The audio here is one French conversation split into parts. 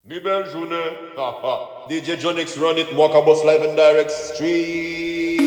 Mi belle journée, DJ Jonix run it, Walker Bus live and direct street.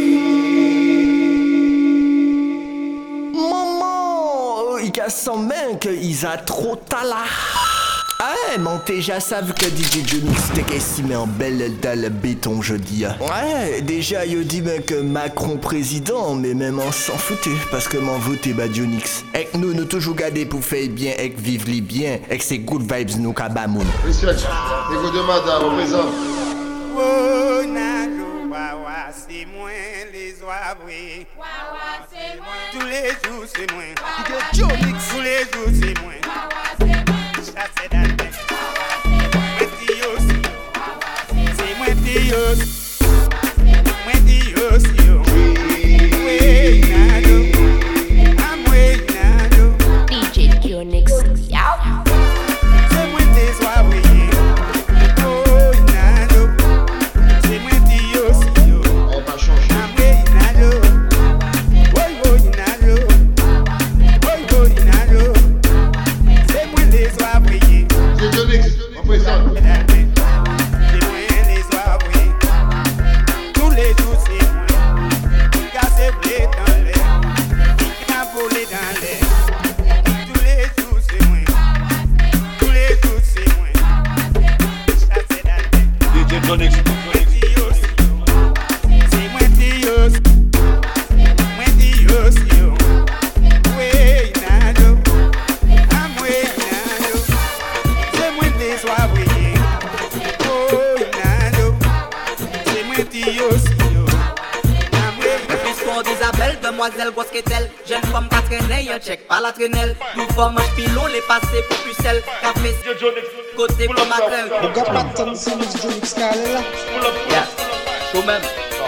Maman, il a son main qu'ils a trop tala. Ah, mon déjà savent que DJ Jonix t'es estimé en belle dans le béton jeudi. Ouais, déjà il dit ben que Macron président, mais même on s'en foutait parce que m'en voté bah Jonix. Et que nous toujours gardé pour faire bien et que vivre les bien et que c'est good vibes nous kabamoun. Respect, égo de madame, au présent. Oh, Nalo, Wawa, c'est moi les oies. Wawa, c'est moi. Tous les jours, c'est moi. DJ Jonix. Tous les jours, c'est moi. Wawa, c'est moi. Chasse dans le bec. Moi, Dios. C'est moi, Dios. Moi, Dios, yo. Oui, Nalo. I'm way, Nalo. DJ Jonix. C'est moi les oies. Oh, Nalo. C'est moi, Dios, yo. Elle va changer. I'm way, Nalo. Oh, Nalo. Oh, Nalo. C'est moi les oies. DJ Jonix, au présent. C'est moi les oies. Tous les jours c'est moi. Casser blé dans l'air. Volé dans l'air. Tous les jours c'est moi. Tous les jours c'est moi. Chasser dans l'air. DJ Jonix. C'est moi Dios. Moi Dios yo. Oui Nado. I'm way Nado. C'est moi les oies. Oh Nado. C'est moi Dios yo. I'm way L'histoire d'Isabelle, demoiselle grosse qu'est-elle. Jeune femme pas traîner, y'a check pas la traînelle. Nous forme un pilon, les passés pour pucelle. Café DJ Jonix. côté comme ma crème. Yeah, show même.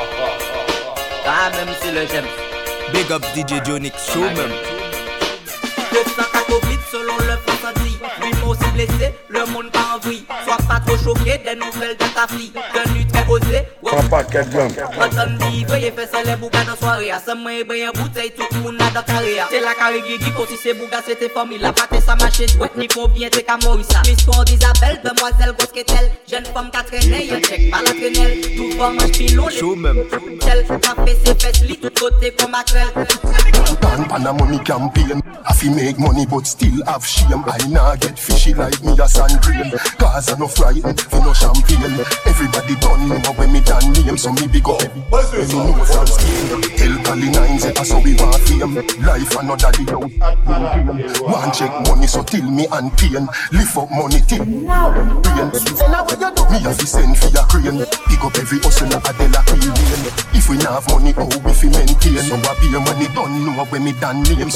Ah, même si le j'aime. Big up DJ Jonix, show même. 204 Covid selon le ressenti. Lui m'a aussi blessé, le monde pas en vrille. Sois pas trop choqué des nouvelles de ta fille. Tenue très osée, Entend dit, veuillez faire ça les bougas dans soirée. À ce moment, il y a une bouteille, tout le monde a dans carré. C'est la carré Guigui, comme si c'est bougas, c'était famille. La pâte, ça marchait, chouette, ni combien, c'est qu'à Maurissa. L'histoire d'Isabelle, demoiselle grosse qu'est-elle. Jeune femme qui a traîné, y'a check pas la traînelle. Tout forme un pilon, les Show même. tel. Café, ses fesses, lit, tout côté comme macrel. Pan a money campaign. I fi make money but still have shame. I nah get fishy like me a sand grain. Cause I no frightened for no champagne. Everybody done know when me done name. So me big up. Me know from skin. Tell Cali 9 say that's how we want fame. Life another day out. One check money so till me and pain. Lift up money till brain. Me have to send for your crane. Pick up every hustler a de la cream. If we nah have money, how we fi maintain? So I be a money done know when me done names.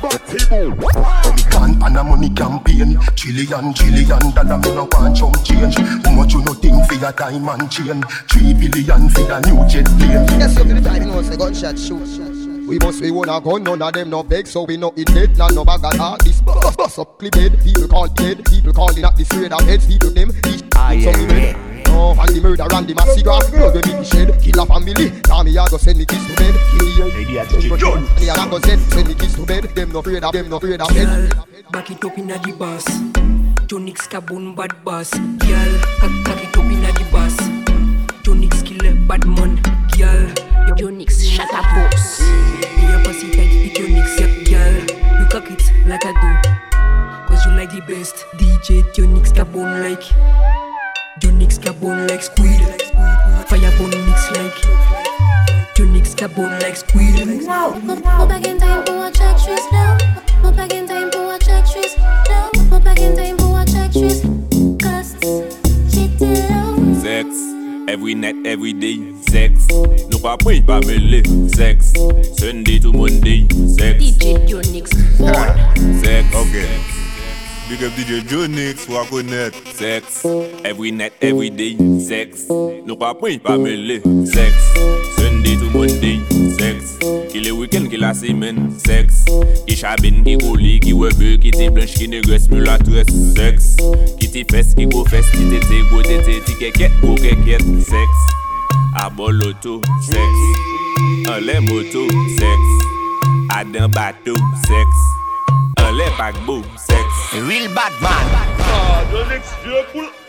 Me can't pan a money campaign. Trillion dollar me no want chump change. How much you no think for your time and chain? 3 billion for the new jet plane. Yes, you can find no say gunshot shoot. We must be one a gun, none of them no beg, so we no eat dead, none no bag of heart. This bust up clip head, people call dead, people calling at the straight of heads, people them, this so we red. No, and the murder and the massacre, blood we make the shed, kill a family, now me a go send me kids to bed, kill the me a go send me kids to bed, them no afraid of head. Back it up inna the bus. Jonix Kabun bad boss. Girl, cock it up inna the bus. Jonix kill a bad man. Girl, Jonix, shut up, boss. your pussy tight with Jonix. Girl, you cock it like I do. Cause you like the best. DJ Jonix Kabun like. Jonix Kabun like squid. Fire bone mix like. Jonix Kabun like squid. Go back in time for watch actress now. Go back in time for watch actress now. Go back in time for watch actress. Costs, shit low. Sex, every night, every day. Sex, no pas point pas mêlé. Sex, Sunday to Monday. Sex, DJ Jonix. sex. Okay. Big up DJ Jonix, faut connaître. Sex, every night, every day. Sex, no pas point pas mêlé. Sex, Sunday to Monday. Sex, qui le week-end, qui la semaine. Sex, qui chabine, qui roule, qui webe, qui te blanche, qui négresse, mulâtresse. Sex, qui te fesse, qui go fesse, qui te go tete, ti keket, go keket. Sex, à bol auto. Sex, en les motos. Sex, à d'un bateau. Sex, en les paquebots. Sex, Real bad man. Jonix, vieux poule.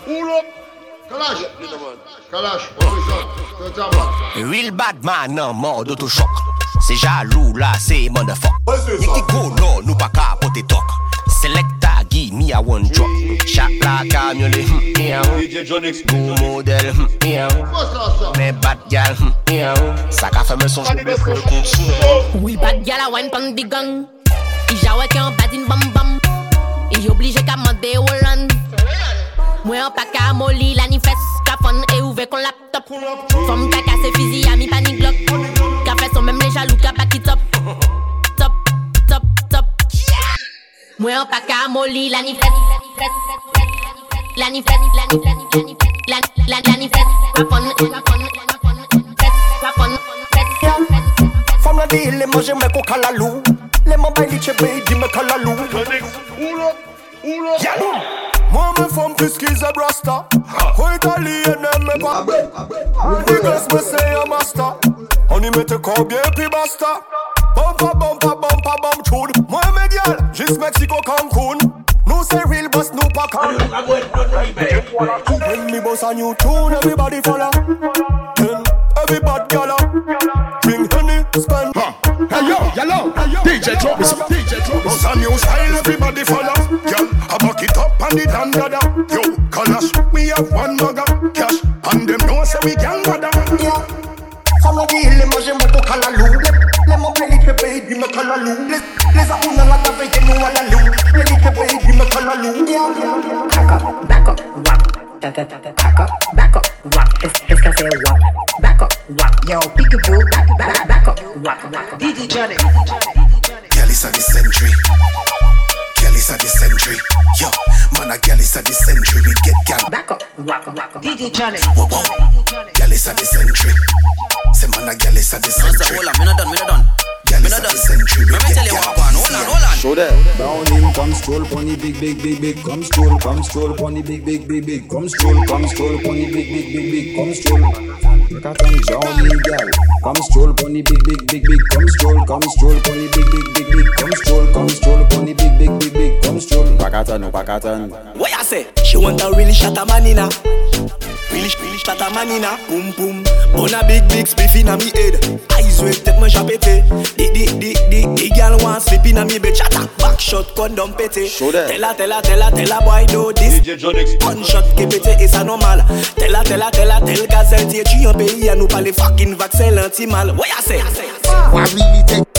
Kalash. Kalash, représente. Real bad man en mode autochoc. C'est jaloux là, c'est motherfuck. Nicky go non, nous pas capoter talk. Selecta, give me a one drop. Chat la camionne, DJ Jonix, bon modèle, mais bad gal, ça qu'a fait me son Oui, bad gal a wine pan big gun. Il jaoué qui en bad in bam bam. Il obligé qu'à mander Holland. Moi en pack à molly, la ni fesse, qu'à fun et ouvert con laptop. Femme qu'à casser fusil à mi panic glock. Qu'à fait son même les jaloux, qu'à back it up. Top, top, top. Moi en pack à molly, la ni fesse. La ni fesse, la ni fesse, la ni fesse. Qu'à fun, Femme la dit, les manger me ko kalalou. Les mobiles li chebe, di me kalalou. Moi me femme plus qu'ils a brasta. Ko italien me pas. Niggas me say a master. On y mette combien puis basta. Bumpa chud. Moi me gyal, juste Mexico Cancun. Nous c'est real boss, nous pas can. When me boss a new tune, everybody follow. Then everybody gala. Drink honey, spend. Hey yo, DJ drop it, Boss a new style, everybody follow. Girl, I back it up and it and gather. Yo, Kalash, we have one mugger cash, and them know say we can gather. Femme la dit, les manger me ko kalalou. Les mobiles li chebe, di me kalalou. Les a una la tave que nous à la lou. Les li chebe, di me kalalou. Back up, walk. Back up, walk. It's gonna say walk. Back up, walk. Yo, peekaboo, back up, walk. DJ Johnny. Kelly's of the century. Kelly's of the century. Yo, man, a Kelly's of the century. We get gal. Back up, walk. DJ Johnny. Whoa. Kelly's of the century. Say man, a Kelly's of the century. Hold on, me not done. Kelly's of the century. We Let me get tell you gal. what, hold on. Show that. Down in, come stroll, pony big. Come stroll, pony big. Come stroll, pony big. Come stroll. Look at them Johnny gal. Come stroll, pony big. Come stroll, pony big. Come stroll, pony big. Come stroll. Pakatan. What you say? She want a really shatta manina. Really shatta manina. Boom. On a big spliff inna me head. Eyes red, take my shot pété. The girl want slip inna me bed. Shatta back shot, condom pété. Tell her boy do this. DJ Jonix, One shot qui pété et ça normal. Tell gazelle t'es tu en pays à nous parler fucking vaccin l'antimal. What you say? What really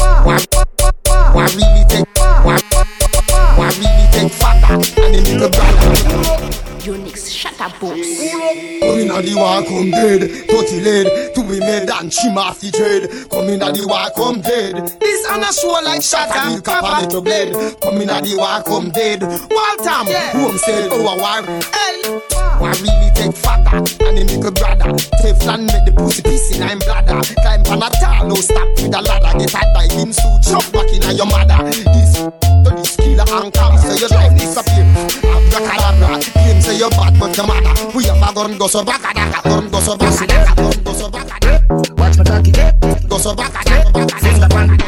take father and the little brother. Unix, shut up, boss. Come in the war, come dead. Totally lead to be made and trim off the trade. Come in the war, come dead. This on a show like shot and cap on it to blade. Come in the war, come dead. Waltham, home said, oh, a war. What really take father and the little brother. Teflon make the pussy piece in I'm bladder. Climb on a tall, no stop with a ladder. Get a diving suit, chop back in your mother. This to this killer and come, so your life disappear. Abracadabra, claim say you're bad but your mother. We have a gun go so back a daka, gun go so back a daka, gun go so back a daka. Watch my cocky dip, go so back a daka, finger pan.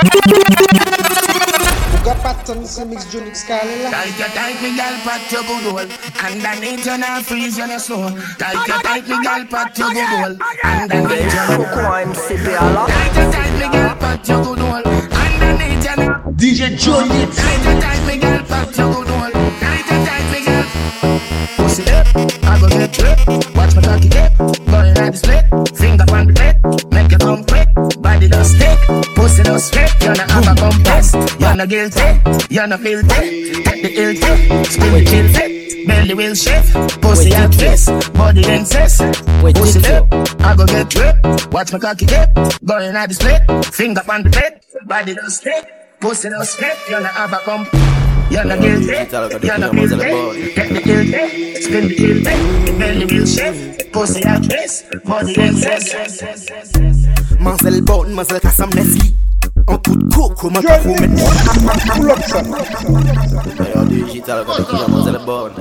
Got patterns to mix Junix Carla. Tight me gal pat your good hole. Underneath you not freeze you no snow. Tight me gal pat your good hole. Underneath you no tight me gal pat your good hole. Underneath you no DJ Johnny. Tight me gal pat your good hole. Tight me gal. Pussy up, I go get tripped. Watch my cocky dip, going at the split. Finger on the plate, make you come quick. Body don't stick, pussy don't strip. You're not have a compass, you're not guilty, you're not filthy. Take the ill tip, spin the chill fit. Belly will shift, pussy at twist, body insist. Pussy up, I go get tripped. Watch my cocky dip, going at the split. Finger on the plate, body don't stick, pussy don't strip. You're not have a compass. You're not guilty, you're not guilty. Take the guilty, spin the guilty. Belly will shift, pussy at twist, body insist. Mazel bon, mazel kassam Nesli. En coup de coco, ma trop mettre. D'ailleurs, digital, quand tu as mazel bon.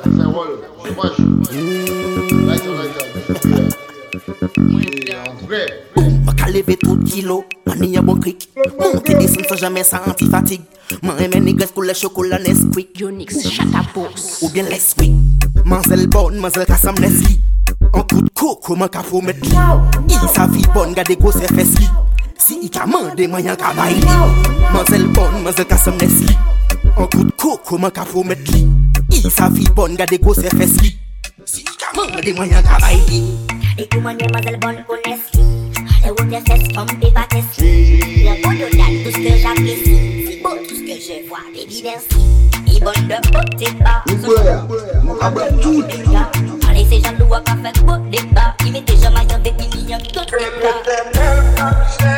Ma ka lever tout kilo, man y a bon clic. Monter descendre sans jamais sentir fatigue. Man aime niggas pour le chocolat Nesquik. Unix, shut up, boss. Ou bien Nesquik. Mazel bonne, mazel ka sam nesli. Un coup de coco, man ka pou met li. I sa vie bonne, gade go se fes li. Si I ka mande, man yan ka bay li. Mazel bonne, mazel ka sam nesli. Un coup de coco, man ka pou met li. I sa vie bonne, gade go se fes li. Si I ka mande, man yan ka bay li. Et tout manger mazel bonne connaisse li. Les routes des fesses comme des pâtes li. Le bon de date, tout ce que j'apprécie. C'est beau tout ce que je vois, baby merci. Il bonne de beauté pas. Tout les gars. Allez ces gens doivent pas faire beau débat. Il met déjà maillant des millions de tout les gars.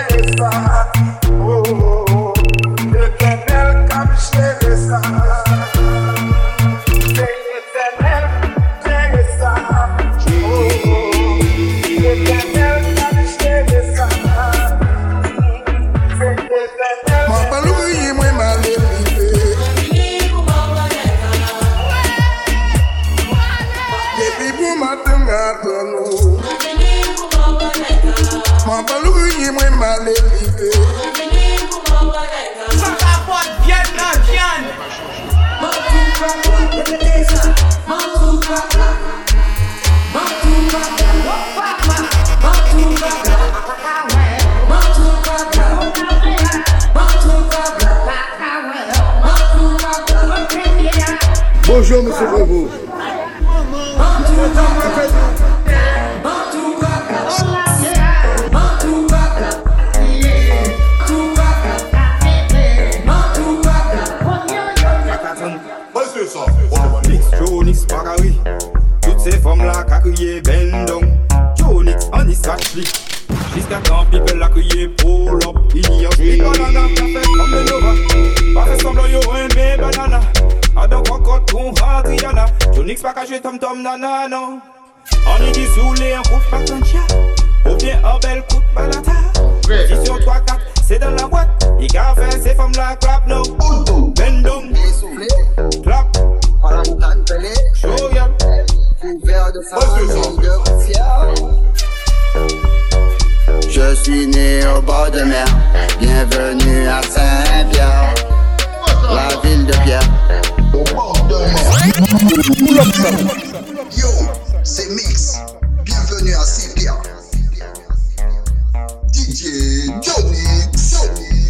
Bonjour, monsieur Bravo. Jonix Bagari, toutes ces femmes là qui crié Bendong. Jonix on y s'achli. Jusqu'à quand people la crié pull up. Il y a des bananas qui fait comme le Nova. Pas fait semblant yo un bé banana. Adam cocotte con Adriana. Jonix pas caché tom tom nana non. On y dit soulé un coup pas ton chat. Ou bien un bel coup de balata. Position 3-4, c'est dans la boîte. Il a fait ces femmes là clap no. Bendong, clap. Show ya. Couvert de famille de fier. Je suis né au bord de mer. Bienvenue à Saint-Pierre, la ville de Pierre. Au bord de mer. Yo, c'est Mix. Bienvenue à Saint-Pierre. DJ Jonix.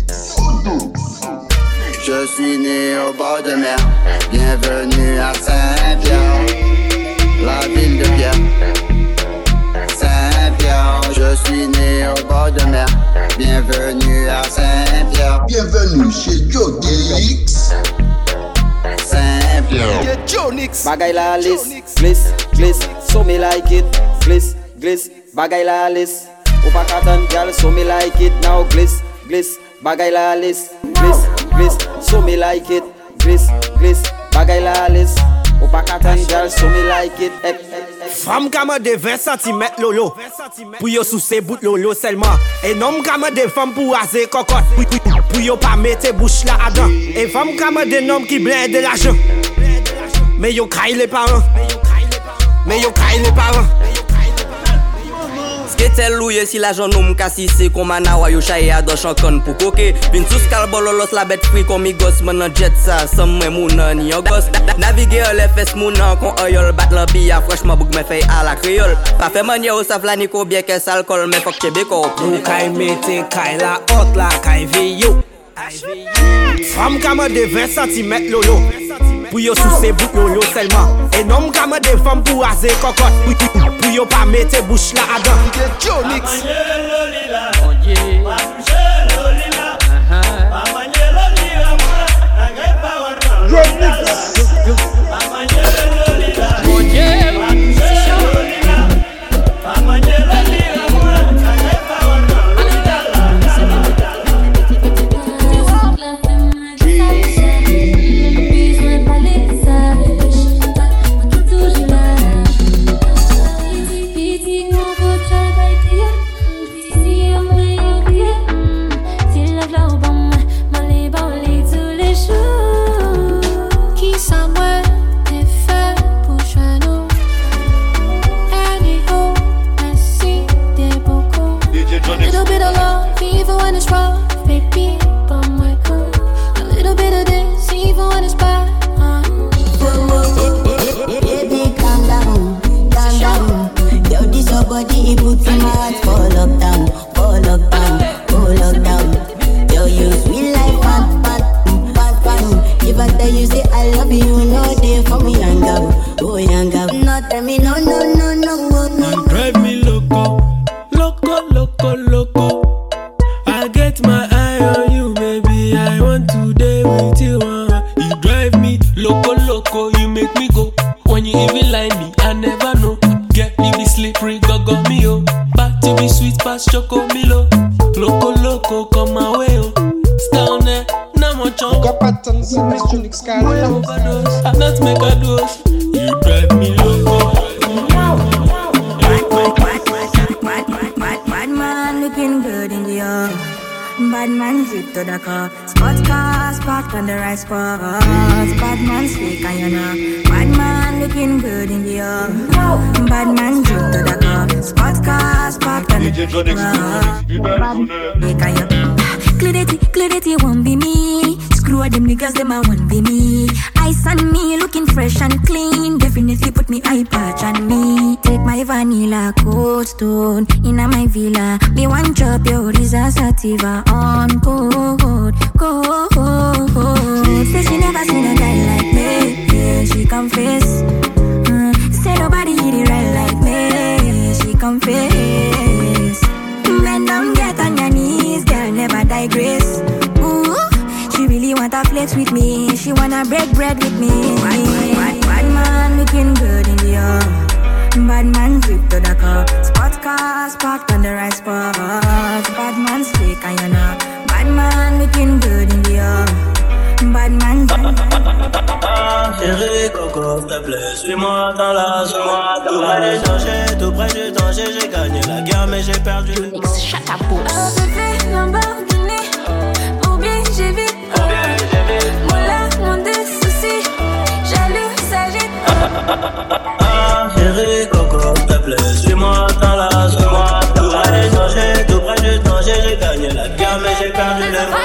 Je suis né au bord de mer. Bienvenue à Saint-Pierre, la ville de Pierre. Saint-Pierre, je suis né au bord de mer. Bienvenue à Saint-Pierre. Bienvenue chez Jonix. Saint-Pierre. Jonix. Bagay la list, glisse, glisse, so me like it. Glisse, glisse, bagay la list. Ou pa katan gal, so me like it. Now glisse, glisse, bagay la list. Glisse, glisse, so me like it. Glisse, glisse, bagay la list. Ou pa katan gal, so me like it. Femme kama de 20 cm lolo. Pou yo sous se bout lolo seulement. Et nom kama de femme pour raser cocotte. Pou yo pas mette bouche là dedans. Et femme kama de nom qui blinde de l'argent. Mais yo caille les parents. Mais yo caille les parents. Sketel louye si la jan nou mkasise Komana wa yo chaye a do chankon pou koke Vin sous kalbololos la bet free kon mi gos Menan jet sa, som mwen mounan ni yo gos Navige yo le fes mounan kon oyol Bat lan biya freshman bouk me fey a la kriol Pa fe manye ou sa flaniko bien kes alkol Men fok chebe ko Nou kay mete kay la hot la kay veyo Femme kama de 20 cm lolo Pou yo sous se bout lolo seulement Et nom kama de femme pour raser cocotte Pou yo pas mette bouche là dedans Jonix Qui ça Tell me no. You drive me loco. I get my eye on you, baby. I want to day with you. You drive me loco. You make me go. When you even lie me, I never know. Get you be slippery, go me oh. But you be sweet past choco milo. Loco, come my way oh. Down there, no more chunk. Got patterns in Miss Junix Skyline. Overdose, I not make a dose. You drive me loco. Bad man looking good in the air. Bad man zip to the car. Spot cars parked on the right spot. Bad man speak and you know. Bad man looking good in the air. Bad man zip to the car. Spot cars parked on the right spot. Clarity won't be me. Screw all them niggas, them I won't be me. Ice on me, looking fresh and clean. Definitely put me eye patch on me. Take my vanilla cold stone inna my villa. Me one chop your Risa Sativa on cold. Say she never seen a guy like me. Yeah, she confess. Say nobody hit it right like me. She confess. Men don't get on your knees, girl, never digress. Ooh, she really wanna flex with me. She wanna break bread with me. Bad man looking good in the air. Bad man drip to the car. Spot cars parked on the right spot. Bad man speak and you know. Bad man looking good in the air. Bad man. Chérie Coco, s'il te plaît, suis-moi dans la joie. Tout près du danger, j'ai gagné la guerre, mais j'ai perdu le temps. Oh bébé, Lamborghini, ou bien j'ai vite. Moula, mon des soucis, jaloux, s'agite. Chérie Coco, s'il te plaît, suis-moi dans la joie. Tout près du danger, j'ai gagné la guerre, mais j'ai perdu le temps.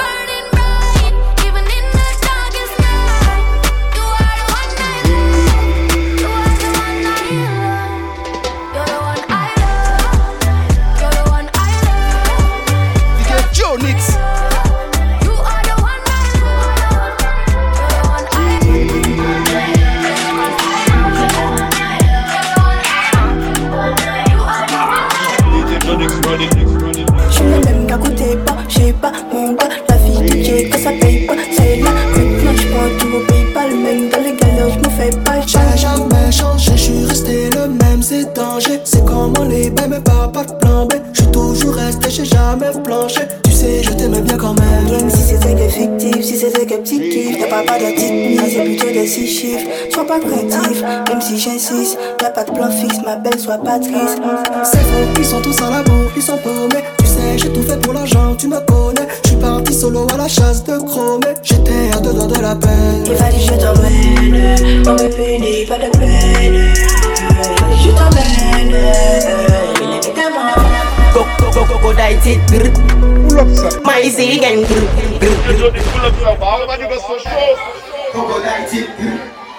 Je me même qu'à côté pas, j'ai pas mon gars. La vie de Dieu, que ça paye pas, c'est là. Maintenant je prends tout au PayPal, même dans les galères, je me fais pas. J'ai jamais changé, je suis resté le même, c'est danger. C'est comme on est bien, mais pas de plan B. Je suis toujours resté, j'ai jamais planché. Tu sais, je t'aimais bien quand même. Même si c'était que fictif, si c'était que petit kiff. Y'a pas de petite mise, c'est plutôt des 6 chiffres. Sois pas créatif, même si j'insiste. Y'a pas de plan fixe, ma belle, sois pas triste. C'est faux, ils sont tous à la bourre, ils sont paumés. Tu sais, j'ai tout fait pour l'argent, tu me connais. Je suis parti solo à la chasse de chromé. J'étais à 2 doigts de la peine. Il fallait que je t'emmène, on me punit, pas de peine. Je t'emmène, évidemment. Coco diet grr. Pull up ça. My zig and grr. Pull up ça. Bah on va dire que c'est chaud. Coco diet grr.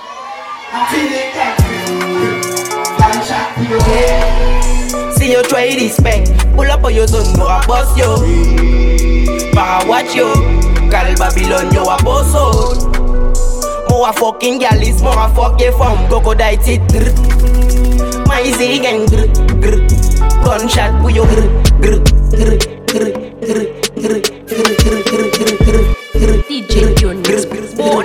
See you try this bang. Pull up on your zone, no a boss yo. Para watch yo. Cal Babylon yo a boss out. Mo a fucking galis, mo a fuck ye from Coco diet grr. My zig and grr grr. Gunshot with your grr grr grr grr grr grr grr grr grr grr. DJ Junix Born.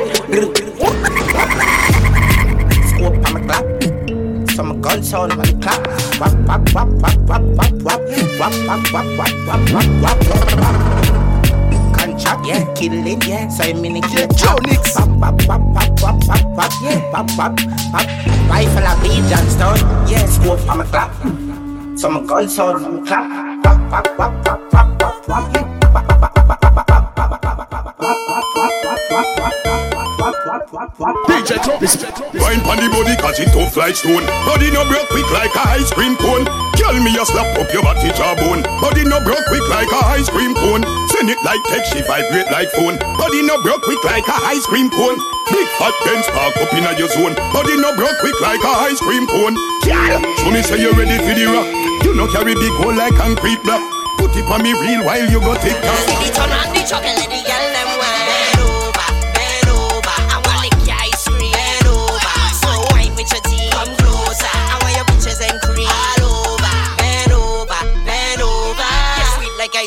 Scope on my clap. Some gun sound on the clap. Wap wap wap wap wap wap wap wap wap wap wap wap wap wap wap. Contract, yeah, kill it, yeah. So I'm in the kill Junix. Wap wap wap wap wap wap wap yeah. Wap wap wap. Rifle a beat Johnstone, yeah. Scope on my clap. Some gun sound on the clap. Wap wap wap wap wap wap wap yeah. Wine pon the body cause it tough like stone. Body no broke quick like a ice cream cone. Girl me a slap up your body jawbone. Body no broke quick like a ice cream cone. Send it like text, she vibrate like phone. Body no broke quick like a ice cream cone. Big fat Benz park up inna your zone. Body no broke quick like a ice cream cone. Girl, show me say you ready for the rock. You no carry big hole like concrete block. Put it on me real while you go take off. See the turn on the truck and let the girl them wine. Bend over, I want lick your ice cream. Bend over, so wine with your teeth. Come close.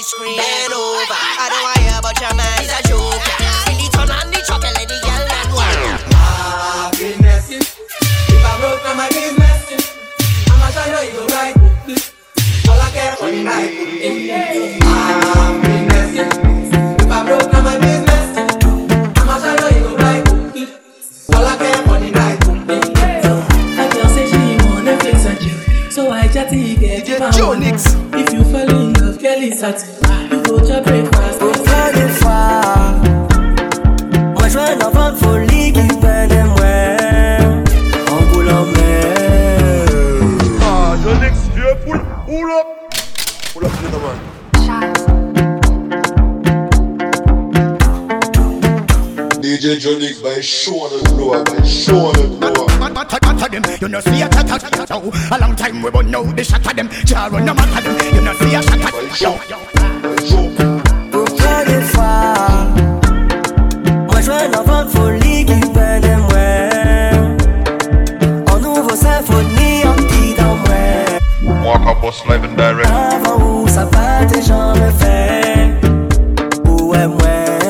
scream. Bend over, I don't wanna hear about your man. He's a joker. Silly turn on the truck and let the girl and work. Happiness, if I broke down my business, I'ma try to you right. All I care for the night. Happiness, if I broke down my business, I'ma try to you right. All I care for the night. I just say she wanna fix a chick, so I chatty get Jonix. If you fall in love, girl, it's at you go to breakfast. Pour faire des fois, moi je veux un enfant de folie qui peine de moi en coulant mer. Ah, Jonix, vieux pull up. Pull up, gentleman. DJ Jonix by showing the floor, You know see a chat a long time we won't know the shot of them. Jar run no matter them. You know see a shot Pour faire des fois, moi je veux un enfant de folie qui peine de moi en nouveau symphonie en petit dans moi. Walk up boss live and direct. Avant où ça va tes gens me fait. Ouais moi.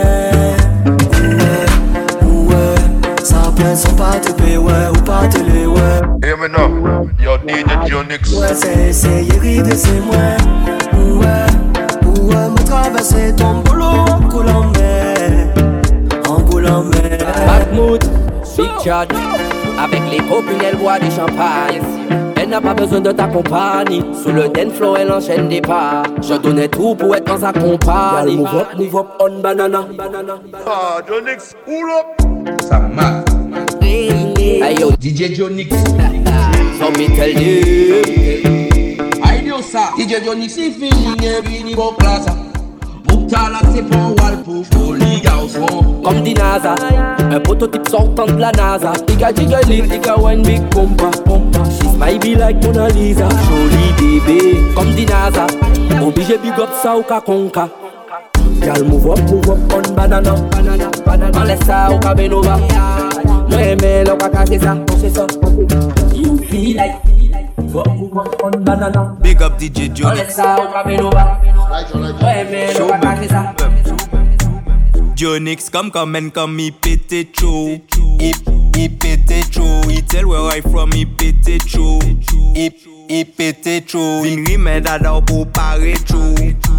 Sont pas te payer, ouais, ou pas te les, ouais. Hear me now, yo DJ Jonix. Ouais, c'est Yeri, c'est moi. Ouais, me traverser ton boulot en coulant mer. En coulant mer. Backmood, Big Chad. Avec les copines, elle boit du champagne. Elle n'a pas besoin de ta compagnie. Sous le dance flow, elle enchaîne des pas. Je donnais tout pour être dans sa compagnie. Move up on banana. Ah, Jonix, pull up. Ça marche. Hey yo, DJ Jonix. So me tell you. I know ça. DJ Jonix, c'est fini, vini bon classe. Boukala, c'est pour wall pour les garçons. Comme dit NASA, un prototype sortant de la NASA. Tika jiggling, tika one big pompa. She's my be like Mona Lisa. Jolie bébé, comme dit NASA. Obligé big up ça ou kakonka. Girl move up on banana. On laisse ça au Cabenova. Moi mais l'on va cacher ça, c'est ça. You feel like move up on banana. Big up DJ Jonix. On laisse ça au Cabenova. Moi mais l'on va cacher ça. Jonix comme il pétait chaud. Il pétait chaud. Il tell where I from, il pétait chaud. Il pétait chaud. Vin rime d'adore pour paraître chaud.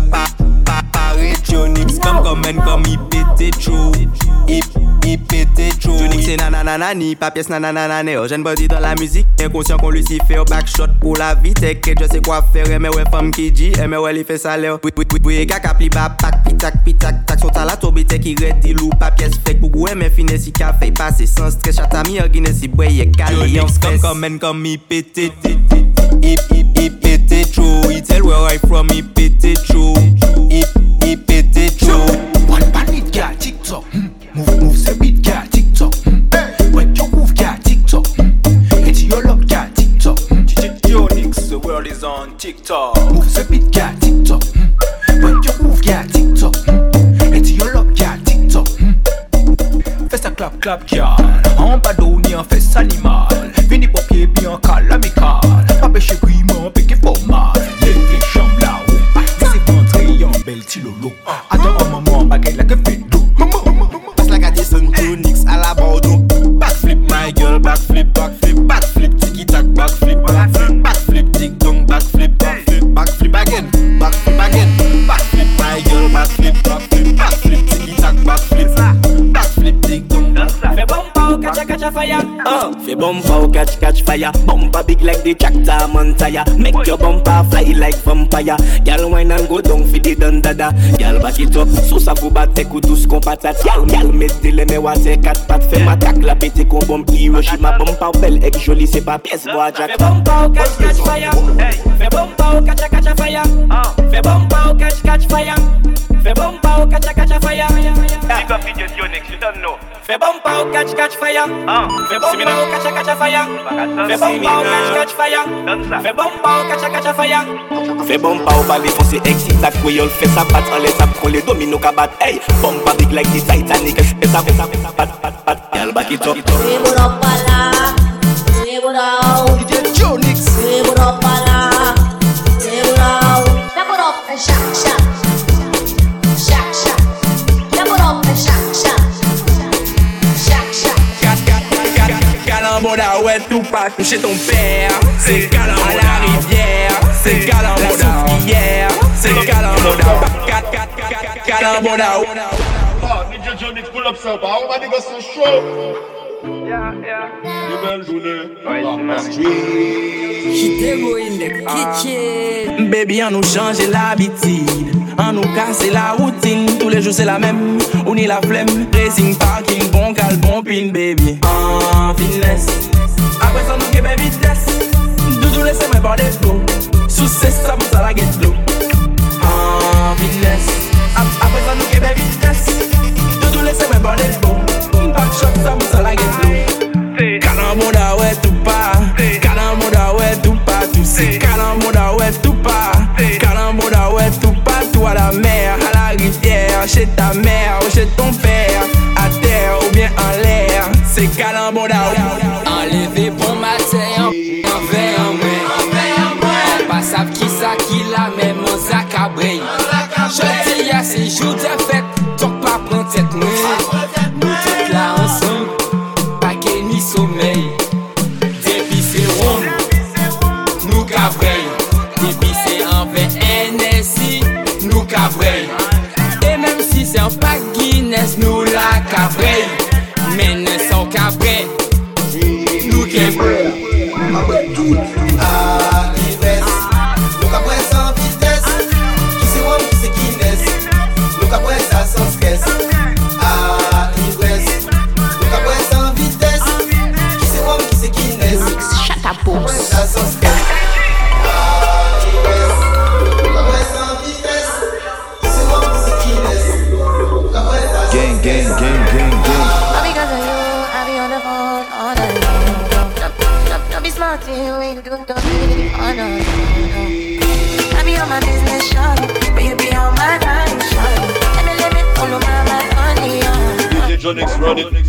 Jonix comme il pétait chaud. Il pétait chaud. Jonix c'est nananani, pas pièce nananane. Jeune body dans la musique, inconscient qu'on lui s'y fait au backshot pour la vie. T'inquiète, je sais quoi faire, mais ouais femme qui dit, mais ouais il fait ça l'air. Oui, gars pli bas, pack, pitak, tac, son talent tobite qui redit loup, pas pièce fake, pour gouer, mais finesse si café passé sans stress, chatami, guiné si boye, calé, comme il pétait. Il pétait chaud, il tell where I from, il pétait chaud. Il pétait chaud. One bandit girl TikTok. Move the beat girl TikTok. When you move girl TikTok. It's your love girl TikTok. DJ Jonix, the world is on TikTok. Move the beat girl TikTok. When you move girl TikTok. It's your love girl TikTok. Fais ça clap girl. En bado ni en fesse animal. Vini papier bien calamical. Pas péché gouillement, péché formal. Les chambres là-haut. C'est rentré en belle tilolo. Attends un moment, baguette là que fait d'eau. Passe la gâte son Jonix à la Bordeaux. Backflip my girl, backflip, tiki tac, backflip, tic dong, backflip again, backflip my girl, backflip, tiki tac, backflip, tic dong. Fais bomba au catch fire. Fais bomba au catch fire. Bomba big like the tractor Montaya. Make your bumper fly like vampire. Girl wine and go down for the dandada. Girl back it up, so ça vous batte coup tous qu'on patate. Girl mette les mes water 4 pattes. Fais ma tac la pété qu'on bombe Hiroshima. Bomba belle et jolie c'est pas pièce bois jack. Fais bomba au catch fire. Fais bomba au catch fire. Fais bomba au catch fire. Fais bomba au catch fire. Big up video Jonix, you don't know. Fais bomba au catch fire. Fais bomba au catch fire. Fais bomba au catch fire. Fais bomba au catch fire. Fais bomba au balai foncé excita Creole. Fais ça bat en les apprends les dominos kabat. Hey, bomba big like the Titanic. Fais ça bat. Y'all back it up. DJ Jonix. Step it up and shot. Calamboda, ouais, tout pas toucher ton père. C'est Calamboda à la rivière. C'est Calamboda la souffrière. C'est Calamboda. Calamboda. DJ Jonix, pull up ça. On va négocier chaud. Belle journée. In the kitchen. Baby, on nous change l'habitude. On nous casse la routine. Tous les jours c'est la même. On y la flemme. Racing parking, bon cal, bon pin, baby. En finesse. Après ça, nous qu'est vitesse. Doudou laissez-moi par des flots. Sous c'est ça, pour ça la get low. En finesse. Après ça, nous qu'est vitesse. Doudou laissez-moi par des flots. Back shot, ça, pour ça la get low. Calamboda, ouais, tout pas. Calamboda, ouais, tout pas. Tout c'est Calamboda, ouais, tout pas. Calamboda, ouais, tout pas. Tout à la mer, à la rivière. Chez ta mère ou chez ton père. À terre ou bien en l'air. C'est Calamboda. Enlevé bon matin, en verre en main. On passe à qui ça qui la même en sac à brille. Je dis à ces jours de fête, donc pas prendre tête nous. Nous toutes là ensemble. Sommeil, depuis c'est rond, nous cabrey, depuis c'est en NSI, nous cabrey. Et même si c'est un pack Guinness, nous la cabrey. Mais ne sont cabrey, nous cabrey. À l'ivresse, nous cabrey sans vitesse. Qui c'est rond, qui c'est Guinness, nous cabrey ça sans stress. À l'ivresse, nous cabrey sans vitesse. Shut up, boss. Gang, gang, gang, gang, gang. Because of you, I be on the phone all night long. Don't be smart, you don't be on the phone. I be on my business, shawty, but you be on my mind, shawty. Let me follow my money, DJ Jonix run it.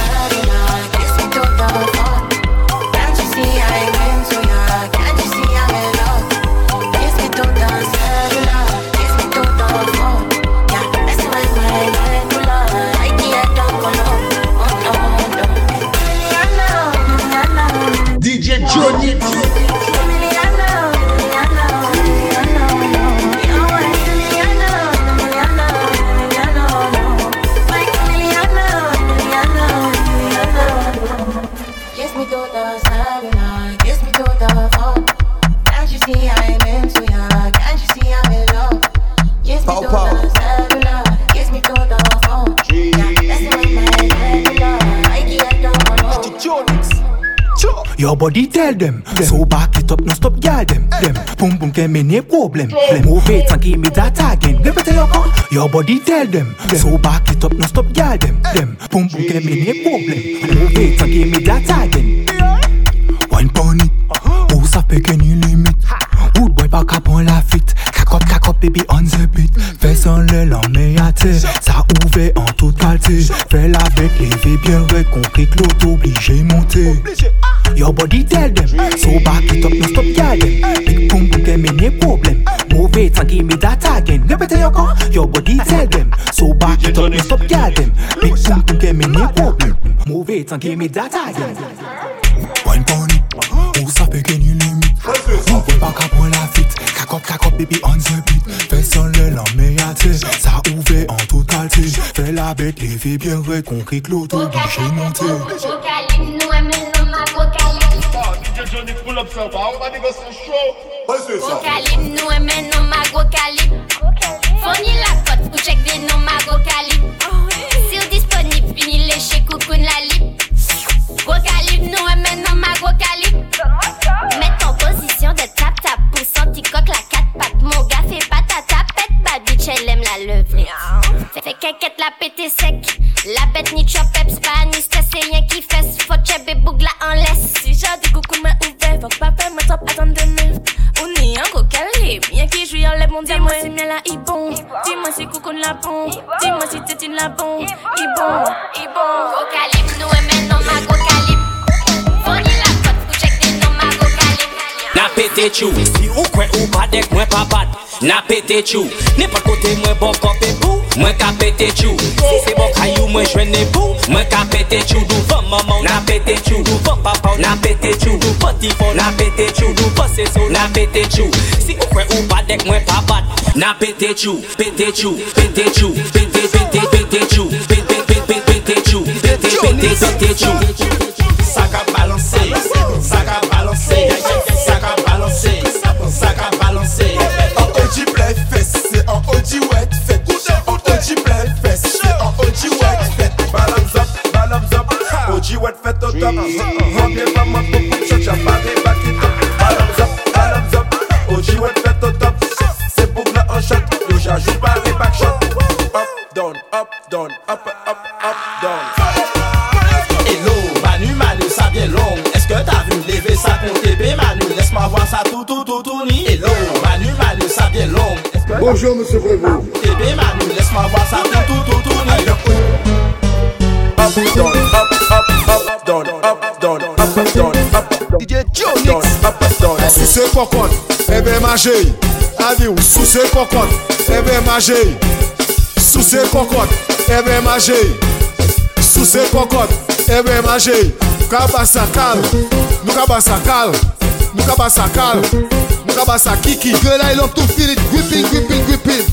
Can't you see I ain't into ya? Can't you see I'm in love? Kiss me to the cellular, kiss me to the phone. Yeah, that's my medulla. I can't talk alone. Oh no, no. DJ Jonix. Your body tell them, so back it up, no stop yell them. Boom boom can me no problem. Move it and give me that again. Repeat your call. Your body tell them, so back it up, no stop yell them. Boom boom can me no problem. Move it and give me that again. One pon it, où ça fait qu'il y a limite. Wood boy pas cap on la fit. Cac up baby on the beat. Fais sans le l'emmenater. Ça ouvert en toute qualité. Fais la bête, lever bien red. Concret que l'auto obligé monter. Your body tell them, so back it up, no stop yell them. Big boom boom can me no problem. Move it and give me that again. Repeat your call. Your body tell them, so back it up, no stop yell them. Big boom boom can me no problem. Move it and give me that again. One pony, où ça fait qu'il y a limite. On peut pas qu'à la fit. Cac up baby on the beat. Fais sans le l'emmenater. Ça ouvert en toute qualité. Fais la bête, lever bien red. Concret que l'auto obligé monter. DJ Jonix, pull up ça. On va négocier chaud. Vocalib, nous aimons nos magocalib. Fournis la cote pour check des noms magocalib. Sur disponible, fini les chez Coucoune la lip. Vocalib, nous aimons nos magocalib. Mets en position de tap-tap pour sentir coque la 4 pattes. Mon gars fait pas ta tapette, bad bitch elle aime la lever. Fait qu'inquiète la pété sec. La bête ni chop peps, pas ni stress, c'est rien qui fesse. Faut chebé bougla en laisse. Si j'ai du coucou m'a ouvert, faut pas faire ma top, attendre de neuf. On est un gros calibre, bien qui joue en lève mon diamant. Dis-moi si bien la ibon, dis-moi si coucou la bon. Dis-moi si tétine la bon, ibon. Gros calibre, nous aimons nos ma gros calibre. Fournis la cote pour check des noms ma gros calibre. La pété chou, si ou quoi ou pas dek moi pas bad. n'a pété chou. N'importe côté, moi bon copé bou, moi qu'a pété chou. Si c'est bon caillou, moi joine bou, moi qu'a pété chou. Devant maman, n'a pété chou. Devant papa, n'a pété chou. Petit fond, n'a pété chou. Devant c'est ça, n'a pété chou. Si vous croyez ou pas d'être moi pas bat, n'a pété chou, pété chou, pété chou, pété chou, pété chou, pété chou. Ça qu'a balancé, ça qu'a balancé, ça qu'a balancé, ça qu'a balancé. En OG play fest, c'est en OG wet fait. En OG play fest, c'est en OG wet fait. Balance up, OG wet fait au top. Bien pas moi pour shot, j'ai pas des back it up. Balance up, OG wet fait au top. C'est pour là en shot, yo j'ajoute pas des back shot. Up, down, up, down, up, down. Hello, Manu, ça bien long. Est-ce que t'as vu lever ça pour TP, Manu? Laisse-moi voir ça tout ni. Hello, Manu, ça bien long. Bonjour, monsieur Prévost. TP, Manu, laisse-moi voir ça tout ni. Up, down, up, down, up, down, up, down, up. DJ Jonix, up, down. Sous ce cocotte, eh ben manger. Allez, sous ce cocotte, eh ben manger. Sous ce cocotte, eh ben manger. Sous ce cocotte, eh ben manger. Kabasa calme, nous kabasa calme, nous kabasa calme, nous kabasa kiki. Girl, I love to feel it, gripping.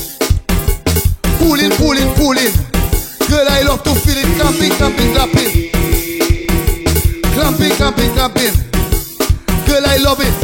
Pulling. Girl, I love to feel it, clamping. Clamping. Girl, I love it.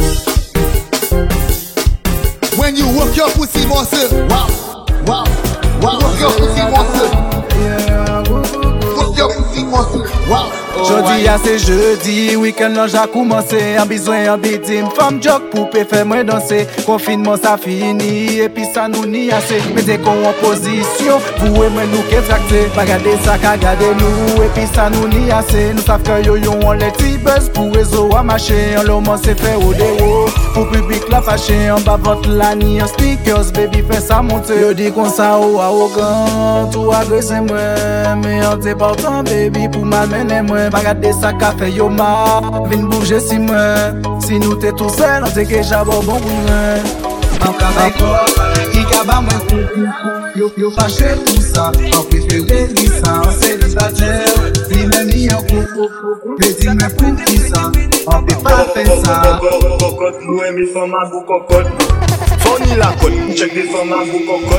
When you work your pussy muscle, wow. Work your pussy muscle. Work your pussy muscle, wow. Jodi a c'est jeudi, week-end là j'ai commencé. En besoin en bidim, femme joke poupée fait moi danser. Confinement ça fini, et puis ça nous ni assez. Mettez qu'on en position, vous et moi nous qu'est tracté. Pas garder ça qu'à garder nous, et puis ça nous ni assez. Nous savons que yo on les petits buzz pour réseau à marcher. En l'homme c'est fait au déo, pour public la fâché. En bas votre la ni en speakers, baby fait ça monter. Yo dit qu'on ça ou arrogant, tout agressé moi. Mais on t'est portant baby pour m'amener moi. Pas garder ça qu'a fait yo ma. Vin bouger si moi. Si nous t'es tout seul, on t'est déjà bon pour moi. En cabako, il kaba moi coucou. Yo fâché tout ça. En préféré ça, on s'est célibataire. Si même y a coucou. Mais dis-moi pour qui ça. On peut pas faire ça. Cocotte, nous aimons femmes à vous cocotte. Fourni la côte, check des femmes à vous cocotte.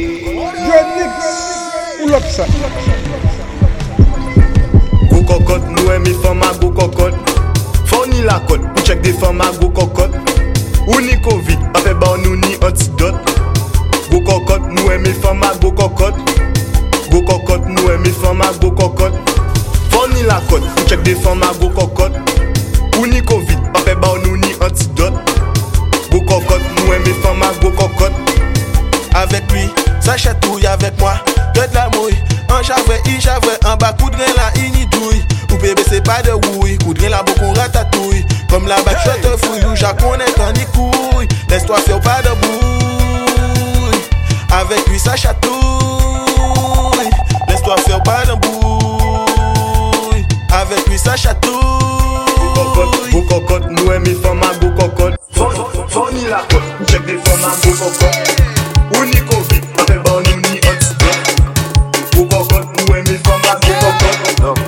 Pull up ça. Go cocotte, nous aimons femmes à go cocotte. Fourni la côte, check des femmes à go cocotte. Ou ni Covid, pas fait bon nous ni antidote. Go cocotte, nous aimons femmes à go cocotte. Go cocotte, nous aimons femmes à go cocotte. Fourni la côte, check des femmes à go cocotte. Ou ni Covid, pas fait bon nous ni antidote. Go cocotte, nous aimons femmes à go cocotte. Avec lui, ça chatouille avec moi. De la mouille, en javoué, en bas, coup de grain là, inidouille. Ou bébé, c'est pas de wouille, coup de grain là, beaucoup ratatouille. Comme la bac, je te fouille, ou j'acconnais quand ni couille. Laisse-toi faire pas de bouille. Avec lui, ça chatouille. Laisse-toi faire pas de bouille. Avec lui, ça chatouille. Go cocotte, nous aimons femmes à go cocotte. Fourni la côte, check des femmes à go cocotte. Ou ni Covid, pas fait bon nous ni antidote. Go cocotte, nous aimons femmes à go cocotte.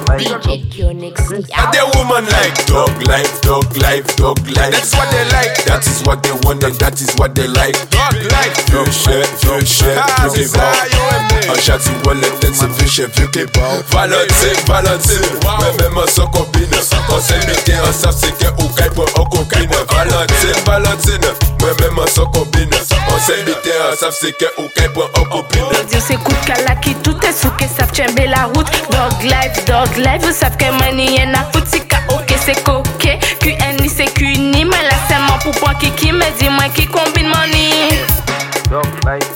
And the woman like dog life. That's what they like. That is what they want and that is what they like. Dog life. Vieux chef, plus des bons. Un châti wallet, c'est vieux chef, vieux kebab. Valentine, ouais même en son combine. On s'est mis en savent c'est qu'un oukaï pour un cocaïne. Valentine, ouais même en son combine. On s'est mis en savent c'est qu'un oukaï pour un copine. Dieu c'est coup de kalaki, tout est sous que ça tchembe la route. Dog life, vous savez que mani y'en a foutu ok c'est coquet. QNI c'est QNI, mais là c'est mon poupon qui me dit moi qui combine money. Dog life.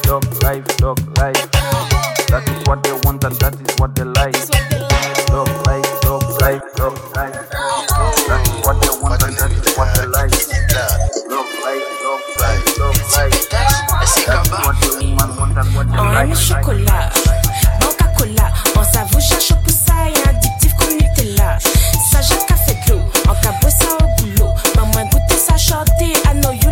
That is what they want and that is what they like. Dog life. That is what they want and that is what they like. Dog life. That is what the woman want and what they like. En chocolat, banque à cola, on s'avoue cherche pour ça et addictif comme Nutella. Ça j'ai café de l'eau, en cabot ça au boulot. Maman goûter ça chanter, I know you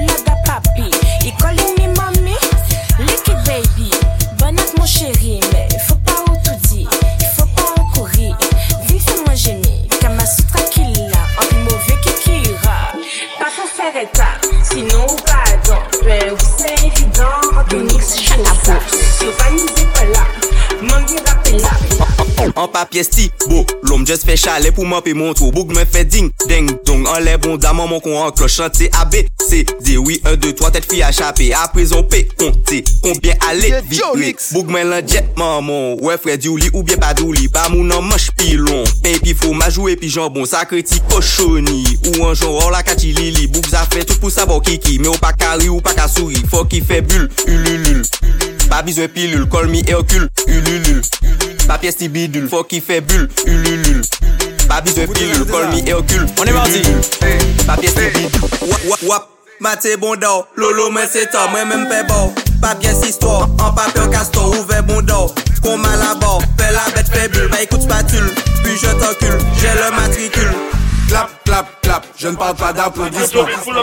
tap. Sinon, pas donc. Ben, oui, c'est évident. Yonix, chaque fois. Yo, pas nous pas là. Mangue rappel là. En papier sti, beau, l'homme just fait chalet pour m'en payer mon tour. Boug me fait ding, ding, dong. En l'air bon dame, mon con en cloche. Chanter A, B, C, D, oui, 1, 2, 3, tête fille à chaper. Après on P, compter, combien aller, vite, Boug me l'enjet, maman. Ouais, frère, Douli ou bien pas Douli. Pas mon en manche pilon. Pain pi fromage ou puis jambon. Ça critique cochonni. Ou un genre, la kati lili. Boug ça fait tout pour savoir kiki. Mais ou pas carré ou pas qu'à souris. Faut qu'il fait bulle, ululul. Pas besoin pilule, call me Hercule, ululul. Papier sti bidule, faut qu'il fait bulle, ululul. Pas besoin pilule, call me Hercule. On est mardi. Papier sti bidule. Wap, wap, maté bon d'or. Lolo, mais c'est temps, moi même fait bon. Papier sti histoire, en papier castor, ouvert bon d'or. Qu'on m'a la barre, fait la bête fait bulle. Bah écoute spatule, puis je t'encule, j'ai le matricule. Clap, clap, clap, je ne parle pas d'applaudissements.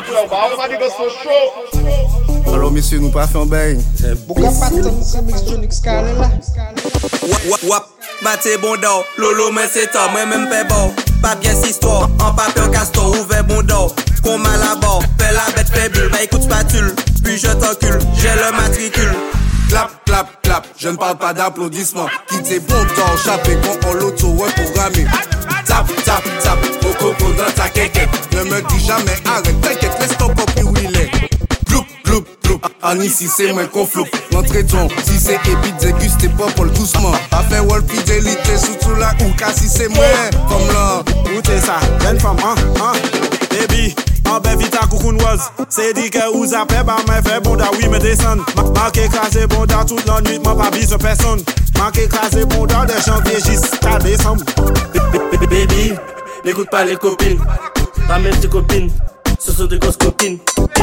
Alors messieurs, nous pas fait un bail. Pourquoi pas tant c'est Mix Jonix Carré là? Wap, wap, maté bon d'or. Lolo, mais c'est temps, moi même fait bon. Papier sti histoire, en papier castor, ouvert bon d'or. Qu'on m'a la barre, fait la bête fait bulle. Bah écoute spatule, puis je t'encule, j'ai le matricule. Clap, clap, clap, je ne parle pas d'applaudissements. Quittez bon temps, chaper quand on l'auto reprogrammé. Tap, tap, tap, au coco dans ta quéquette. Ne me dis jamais arrête, t'inquiète, laisse ton copie où il est. Gloup, gloup, gloup, en ici c'est moi qu'on floupe. L'entrée ton, si c'est épide, dégustez pas pour le doucement. Afin wall fidélité, sous la ou si c'est moi, comme là. Écoutez ça, jeune femme, baby. En belle vite à coucounoise. C'est dit que vous appelez, bah, mais fait bon da oui, me descend. Marqué écrasé bon da toute la nuit, m'a pas besoin de personne. Marqué écrasé bon da de janvier jusqu'à décembre. Baby, n'écoute pas les copines. Pas même tes copines, ce sont des grosses copines.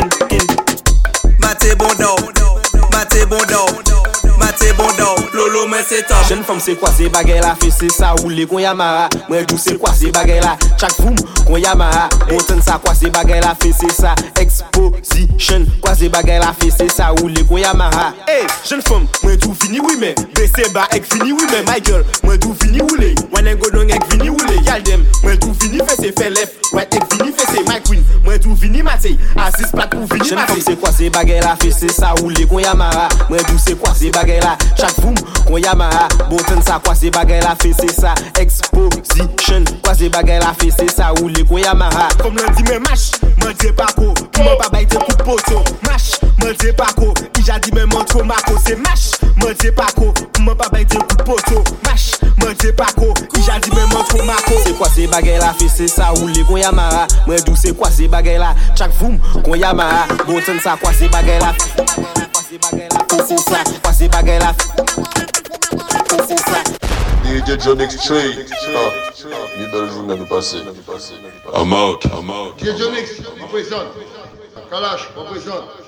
Maté bon d'or, maté bon d'or. Maté bon d'or, Lolo mais c'est top. Jeune femme c'est quoi c'est bagay la fait c'est ça ou les qu'on yamara. Moi tout c'est quoi c'est bagay la. Chaque boom qu'on yamara. Autant ça quoi c'est bagay la fait c'est ça. Exposition quoi c'est bagay la fait c'est ça ou les qu'on yamara. Hey jeune femme, moi tout fini oui mais baissez bas ek fini oui mais my girl, moi tout fini ou les. One go don ek fini ou les. Y'all dem, moi tout fini fait c'est fait left. Ouais ek fini fait c'est my queen. Moi tout fini maté. Assis pas tout fini. Jeune femme c'est quoi c'est bagay la fait c'est ça ou les qu'on yamara. Moi tout c'est quoi c'est bagay la. Chaque boom qu'on yamara. Bonten ça quoi c'est bagay la fait c'est ça. Exposition quoi c'est bagay la fait c'est ça ou les qu'on yamara. Comme lundi mais mash, m'en dis pas quoi. M'en pas bailler coup de poteau. Mash, m'en dis pas quoi. Il a dit mais m'en trop maco c'est mash. M'en dis pas quoi. M'en pas bailler coup de poteau. Mash, m'en dis pas quoi. Il a dit mais m'en trop maco. C'est quoi c'est bagay la fait c'est ça ou les qu'on yamara. Moi d'où c'est quoi c'est bagay la. Chaque boom qu'on yamara. Bonten ça quoi c'est bagay la. C'est ça, quoi c'est bagay la. C'est ça. DJ Jonix Street. Ni belle journée nous passer. I'm out. DJ Jonix, représente. Kalash, représente.